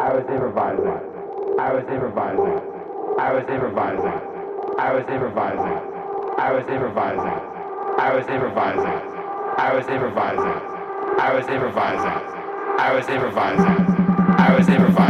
I was improvising. I was improvising. I was improvising. I was improvising. I was improvising. I was improvising. I was improvising. I was improvising. I was improvising. I was improvising.